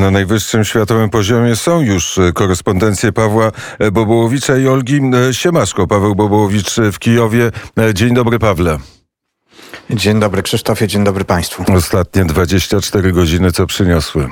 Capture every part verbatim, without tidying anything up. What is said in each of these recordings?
Na najwyższym światowym poziomie są już korespondencje Pawła Bobołowicza i Olgi Siemaszko. Paweł Bobołowicz w Kijowie. Dzień dobry, Pawle. Dzień dobry, Krzysztofie, dzień dobry Państwu. Ostatnie dwadzieścia cztery godziny co przyniosły?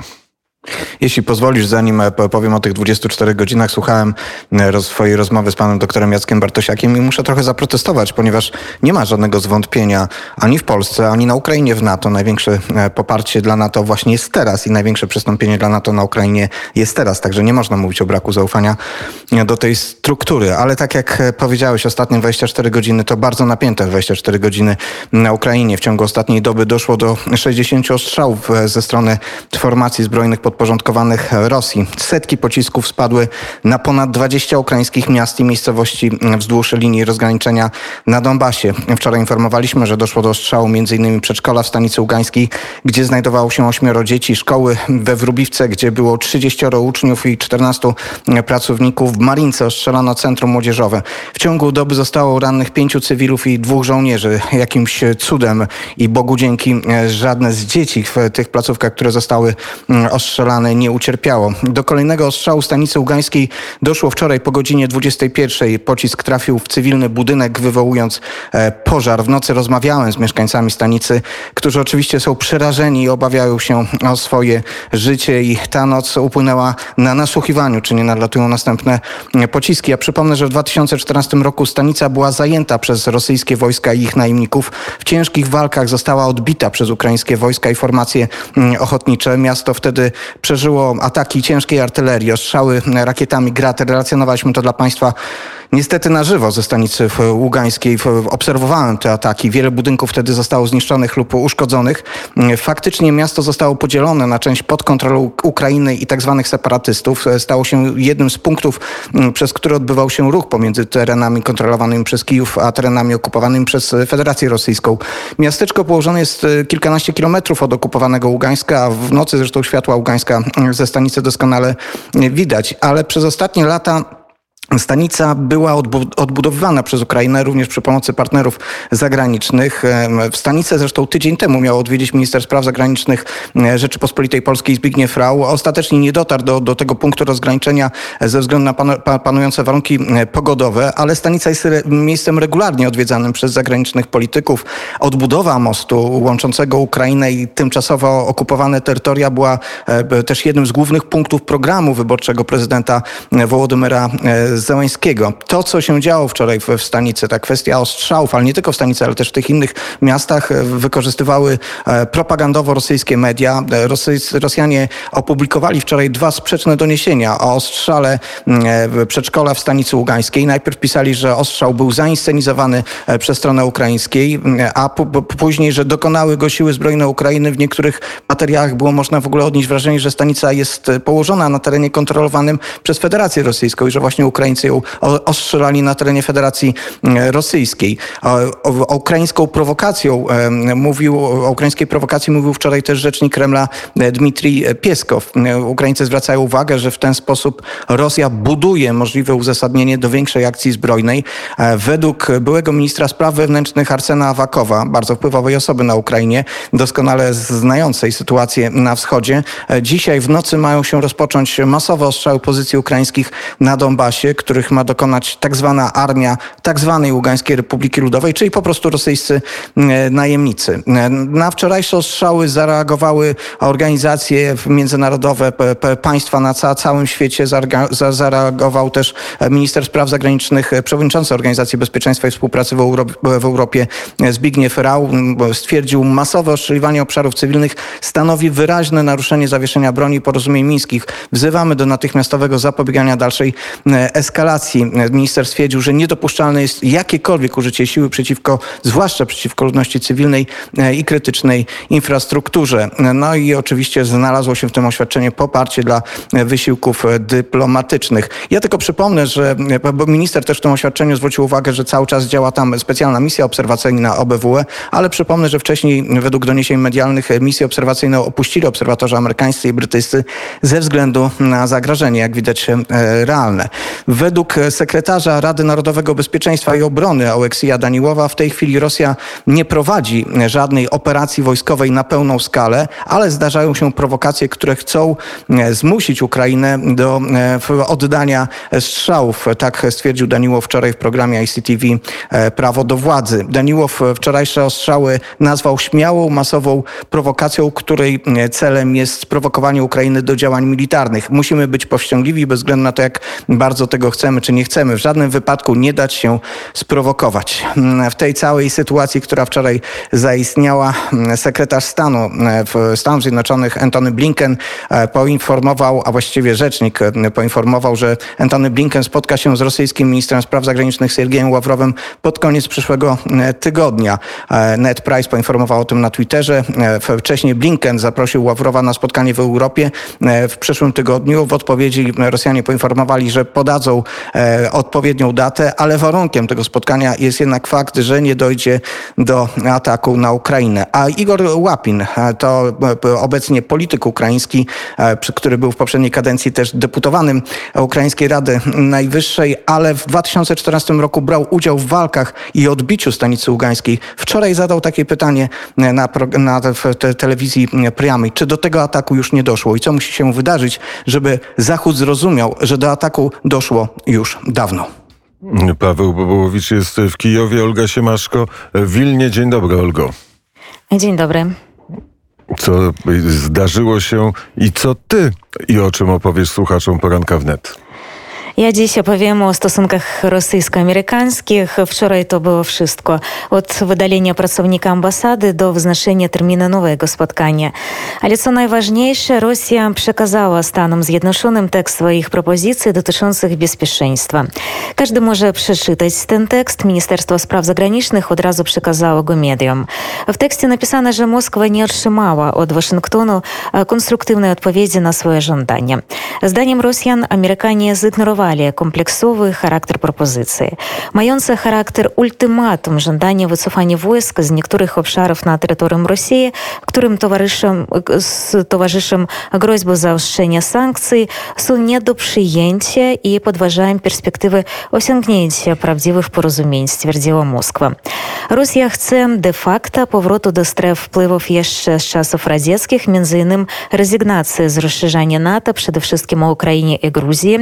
Jeśli pozwolisz, zanim powiem o tych dwudziestu czterech godzinach, słuchałem swojej rozmowy z panem doktorem Jackiem Bartosiakiem i muszę trochę zaprotestować, ponieważ nie ma żadnego zwątpienia ani w Polsce, ani na Ukrainie w NATO. Największe poparcie dla NATO właśnie jest teraz i największe przystąpienie dla NATO na Ukrainie jest teraz. Także nie można mówić o braku zaufania do tej struktury. Ale tak jak powiedziałeś, ostatnie dwadzieścia cztery godziny to bardzo napięte dwadzieścia cztery godziny na Ukrainie. W ciągu ostatniej doby doszło do sześćdziesięciu ostrzałów ze strony formacji zbrojnych podporządkowanych Rosji. Setki pocisków spadły na ponad dwadzieścia ukraińskich miast i miejscowości wzdłuż linii rozgraniczenia na Donbasie. Wczoraj informowaliśmy, że doszło do ostrzału m.in. przedszkola w stanicy ługańskiej, gdzie znajdowało się ośmioro dzieci, szkoły we Wróbiwce, gdzie było trzydzieścioro uczniów i czternastu pracowników. W Marince ostrzelano centrum młodzieżowe. W ciągu doby zostało rannych pięciu cywilów i dwóch żołnierzy. Jakimś cudem i Bogu dzięki żadne z dzieci w tych placówkach, które zostały ostrzelane, nie ucierpiało. Do kolejnego ostrzału stanicy ługańskiej doszło wczoraj po godzinie dwudziestej pierwszej. Pocisk trafił w cywilny budynek, wywołując pożar. W nocy rozmawiałem z mieszkańcami stanicy, którzy oczywiście są przerażeni i obawiają się o swoje życie i ta noc upłynęła na nasłuchiwaniu, czy nie nadlatują następne pociski. Ja przypomnę, że w dwa tysiące czternastym roku stanica była zajęta przez rosyjskie wojska i ich najemników. W ciężkich walkach została odbita przez ukraińskie wojska i formacje ochotnicze. Miasto wtedy przeżyło ataki ciężkiej artylerii, ostrzały rakietami Grad. Relacjonowaliśmy to dla Państwa niestety na żywo ze stanicy ługańskiej. Obserwowałem te ataki. Wiele budynków wtedy zostało zniszczonych lub uszkodzonych. Faktycznie miasto zostało podzielone na część pod kontrolą Ukrainy i tak zwanych separatystów. Stało się jednym z punktów, przez który odbywał się ruch pomiędzy terenami kontrolowanymi przez Kijów, a terenami okupowanymi przez Federację Rosyjską. Miasteczko położone jest kilkanaście kilometrów od okupowanego Ługańska, a w nocy zresztą światła Ługańska ze stanicy doskonale widać. Ale przez ostatnie lata stanica była odbudowywana przez Ukrainę również przy pomocy partnerów zagranicznych. W stanicę zresztą tydzień temu miał odwiedzić minister spraw zagranicznych Rzeczypospolitej Polskiej Zbigniew Rau. Ostatecznie nie dotarł do, do tego punktu rozgraniczenia ze względu na panu, panujące warunki pogodowe, ale stanica jest re, miejscem regularnie odwiedzanym przez zagranicznych polityków. Odbudowa mostu łączącego Ukrainę i tymczasowo okupowane terytoria była też jednym z głównych punktów programu wyborczego prezydenta Wołodymyra Zełenskiego. To, co się działo wczoraj w, w stanicy, ta kwestia ostrzałów, ale nie tylko w stanicy, ale też w tych innych miastach, wykorzystywały propagandowo rosyjskie media. Rosy, Rosjanie opublikowali wczoraj dwa sprzeczne doniesienia o ostrzale przedszkola w stanicy ługańskiej. Najpierw pisali, że ostrzał był zainscenizowany przez stronę ukraińskiej, a p- później, że dokonały go siły zbrojne Ukrainy. W niektórych materiałach było można w ogóle odnieść wrażenie, że stanica jest położona na terenie kontrolowanym przez Federację Rosyjską i że właśnie Ukraińcy ją ostrzelali na terenie Federacji Rosyjskiej. O, o, ukraińską prowokacją mówił, o ukraińskiej prowokacji mówił wczoraj też rzecznik Kremla Dmitrij Pieskow. Ukraińcy zwracają uwagę, że w ten sposób Rosja buduje możliwe uzasadnienie do większej akcji zbrojnej. Według byłego ministra spraw wewnętrznych Arsena Awakowa, bardzo wpływowej osoby na Ukrainie, doskonale znającej sytuację na wschodzie, dzisiaj w nocy mają się rozpocząć masowe ostrzały pozycji ukraińskich na Donbasie, których ma dokonać tak zwana armia tak zwanej Ługańskiej Republiki Ludowej, czyli po prostu rosyjscy najemnicy. Na wczorajsze ostrzały zareagowały organizacje międzynarodowe, państwa na ca- całym świecie. Zareagował też minister spraw zagranicznych, przewodniczący Organizacji Bezpieczeństwa i Współpracy w, Euro- w Europie Zbigniew Rau. Stwierdził, masowe ostrzeliwanie obszarów cywilnych stanowi wyraźne naruszenie zawieszenia broni i porozumień mińskich. Wzywamy do natychmiastowego zapobiegania dalszej eskalacji. Minister stwierdził, że niedopuszczalne jest jakiekolwiek użycie siły przeciwko, zwłaszcza przeciwko ludności cywilnej i krytycznej infrastrukturze. No i oczywiście znalazło się w tym oświadczeniu poparcie dla wysiłków dyplomatycznych. Ja tylko przypomnę, że bo minister też w tym oświadczeniu zwrócił uwagę, że cały czas działa tam specjalna misja obserwacyjna O B W E, ale przypomnę, że wcześniej według doniesień medialnych misję obserwacyjną opuścili obserwatorzy amerykańscy i brytyjscy ze względu na zagrożenie, jak widać, realne. Według sekretarza Rady Narodowego Bezpieczeństwa i Obrony Oleksija Daniłowa w tej chwili Rosja nie prowadzi żadnej operacji wojskowej na pełną skalę, ale zdarzają się prowokacje, które chcą zmusić Ukrainę do oddania strzałów. Tak stwierdził Daniłow wczoraj w programie I C T V Prawo do władzy. Daniłow wczorajsze ostrzały nazwał śmiałą, masową prowokacją, której celem jest sprowokowanie Ukrainy do działań militarnych. Musimy być powściągliwi bez względu na to, jak bardzo tego chcemy czy nie chcemy. W żadnym wypadku nie dać się sprowokować. W tej całej sytuacji, która wczoraj zaistniała, sekretarz stanu w Stanów Zjednoczonych Antony Blinken poinformował, a właściwie rzecznik poinformował, że Antony Blinken spotka się z rosyjskim ministrem spraw zagranicznych Sergiejem Ławrowem pod koniec przyszłego tygodnia. Ned Price poinformował o tym na Twitterze. Wcześniej Blinken zaprosił Ławrowa na spotkanie w Europie w przyszłym tygodniu. W odpowiedzi Rosjanie poinformowali, że podadzą odpowiednią datę, ale warunkiem tego spotkania jest jednak fakt, że nie dojdzie do ataku na Ukrainę. A Igor Łapin to obecnie polityk ukraiński, który był w poprzedniej kadencji też deputowanym Ukraińskiej Rady Najwyższej, ale w dwa tysiące czternastym roku brał udział w walkach i odbiciu stanicy ługańskiej. Wczoraj zadał takie pytanie na, na w te, telewizji Priamej, czy do tego ataku już nie doszło i co musi się wydarzyć, żeby Zachód zrozumiał, że do ataku doszło już dawno. Paweł Bobołowicz jest w Kijowie, Olga Siemaszko w Wilnie. Dzień dobry, Olgo. Dzień dobry. Co zdarzyło się i co ty i o czym opowiesz słuchaczom Poranka Wnet? Ja dziś opowiem o stosunkach rosyjsko-amerykańskich. Wczoraj to było wszystko. Od wydalenia pracownika ambasady do wznoszenia terminu nowego spotkania. Ale co najważniejsze, Rosja przekazała Stanom Zjednoczonym tekst swoich propozycji dotyczących bezpieczeństwa. Każdy może przeczytać ten tekst. Ministerstwo Spraw Zagranicznych od razu przekazało go mediom. W tekście napisano, że Moskwa nie otrzymała od Waszyngtonu konstruktywnej odpowiedzi na swoje żądania. Zdaniem Rosjan Amerykanie zignorowali kompleksowy charakter propozycji. Mające charakter ultimatum żądania wycofania wojsk z niektórych obszarów na terytorium Rosji, którym towarzyszą, towarzyszą groźby zaostrzenia sankcji, są nie do przyjęcia i podważają perspektywy osiągnięcia prawdziwych porozumień, stwierdziła Moskwa. Rosja chce de facto powrotu do stref wpływów jeszcze z czasów radzieckich, między innymi rezygnacji z rozszerzania NATO, przede wszystkim o Ukrainie i Gruzji.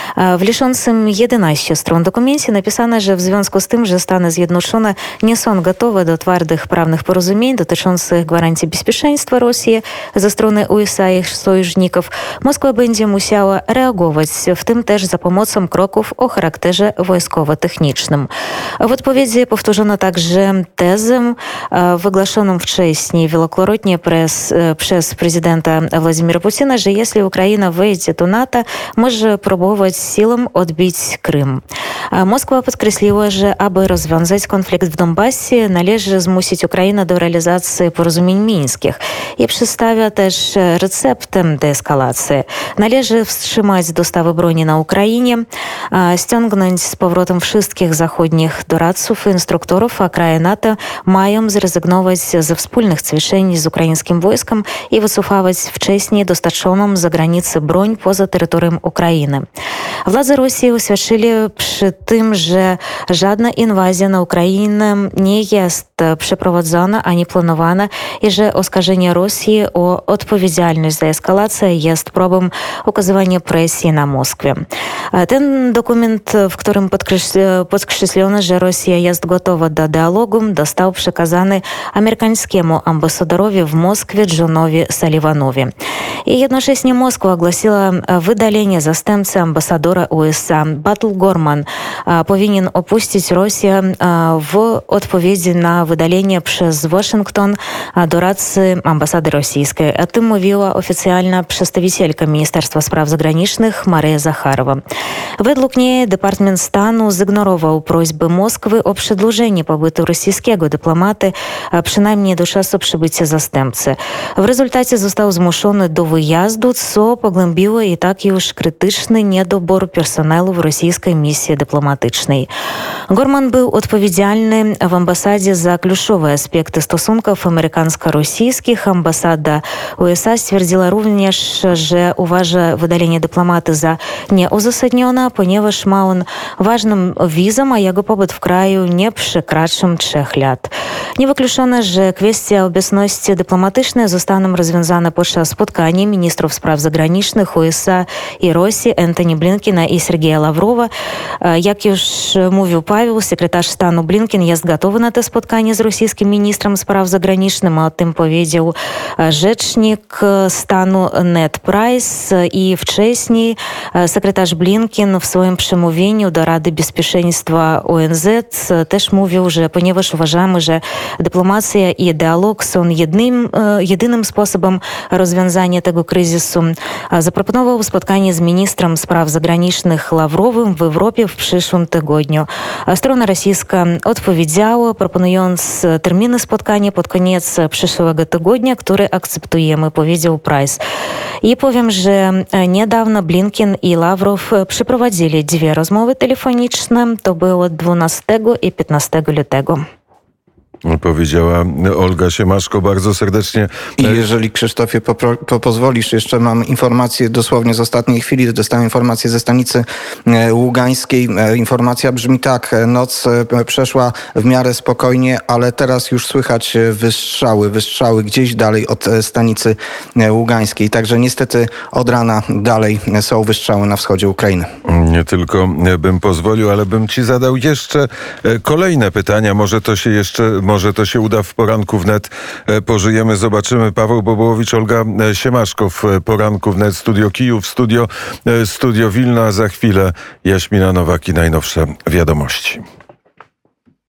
W liczącym jedenaście stron dokumencie napisano, że w związku z tym, że Stany Zjednoczone nie są gotowe do twardych prawnych porozumień dotyczących gwarancji bezpieczeństwa Rosji ze strony U S A i ich sojuszników, Moskwa będzie musiała reagować, w tym też za pomocą kroków o charakterze wojskowo-technicznym. W odpowiedzi powtórzono także tezę wygłoszoną wcześniej wielokrotnie przez, przez prezydenta Władimira Putina, że jeśli Ukraina wejdzie do NATO, może próbować siłą odbić Krym. Moskwa podkreśliła, że aby rozwiązać konflikt w Donbasie, należy zmusić Ukrainę do realizacji porozumień mińskich i przedstawia też receptę deeskalacji. Należy wstrzymać dostawy broni na Ukrainie, ściągnąć z powrotem wszystkich zachodnich doradców i instruktorów, a kraje NATO mają zrezygnować ze wspólnych ćwiczeń z ukraińskim wojskiem i wycofywać wcześniej dostarczoną za granicę broń poza terytorium Ukrainy. Władze Rosji oświadczyli przy tym, że żadna inwazja na Ukrainę nie jest przeprowadzona ani planowana i że oskarżenie Rosji o odpowiedzialność za eskalację jest próbą okazywania presji na Moskwę. Ten dokument, w którym podkreślono, że Rosja jest gotowa do dialogu, został przekazany amerykańskiemu ambasadorowi w Moskwie Johnowi Sullivanowi. I jednocześnie Moskwa ogłosiła wydalenie zastępcy ambasadora U S A. Battle Gorman powinien opuścić Rosję w odpowiedzi na wydalenie przez Waszyngton doradcy ambasady rosyjskiej. O tym mówiła oficjalna przedstawicielka Ministerstwa Spraw Zagranicznych Maria Zakharowa. Według niej Departament Stanu zignorował prośby Moskwy o przedłużenie pobytu rosyjskiego dyplomaty, przynajmniej do czasu przybycia zastępcy. W rezultacie został zmuszony do wyjazdu, co pogłębiło i tak już krytyczny niedobór personelu w rosyjskiej misji dyplomatycznej. Gorman był odpowiedzialny w ambasadzie za kluczowe aspekty stosunków amerykańsko-rosyjskich. Ambasada U S A stwierdziła również, że uważa wydalenie dyplomaty za nieuzasadnione, ponieważ ma on ważną wizę, a jego pobyt w kraju nie przekracza trzech lat. Niewykluczone, że kwestia obecności dyplomatycznej zostaną rozwiązane podczas spotkania ministrów spraw zagranicznych U S A i Rosji Antoni Blinkena i Sergeja Lawrowa. Jak już mówił Paweł, sekretarz stanu Blinken jest gotowy na to spotkanie z rosyjskim ministrem spraw zagranicznych, o tym powiedział rzecznik stanu Ned Price i wcześniej sekretarz Blinken w swoim przemówieniu do Rady Bezpieczeństwa O N Z też mówił, że ponieważ uważamy, że dyplomacja i dialog są jednym, jedynym sposobem rozwiązania tego kryzysu, zaproponował spotkanie z ministrem spraw zagranicznych Lawrowym w Europie w przyszłym tygodniu. Strona rosyjska odpowiedziała, proponując terminy spotkania pod koniec przyszłego tygodnia, który akceptujemy, powiedział Price. I powiem, że niedawno Blinken i Lawrow przeprowadzili dwie rozmowy telefoniczne. To było dwunastego i piętnastego lutego. Powiedziała Olga Siemaszko, bardzo serdecznie. I jeżeli, Krzysztofie, popro, po, pozwolisz, jeszcze mam informację dosłownie z ostatniej chwili. Dostałem informację ze stanicy ługańskiej. Informacja brzmi tak. Noc przeszła w miarę spokojnie, ale teraz już słychać wystrzały, wystrzały gdzieś dalej od stanicy ługańskiej. Także niestety od rana dalej są wystrzały na wschodzie Ukrainy. Nie tylko bym pozwolił, ale bym ci zadał jeszcze kolejne pytania. Może to się jeszcze Może to się uda w poranku wnet. Pożyjemy, zobaczymy. Paweł Bobołowicz, Olga Siemaszko w poranku wnet. Studio Kijów, studio, studio Wilna. Za chwilę Jaśmina Nowak i najnowsze wiadomości.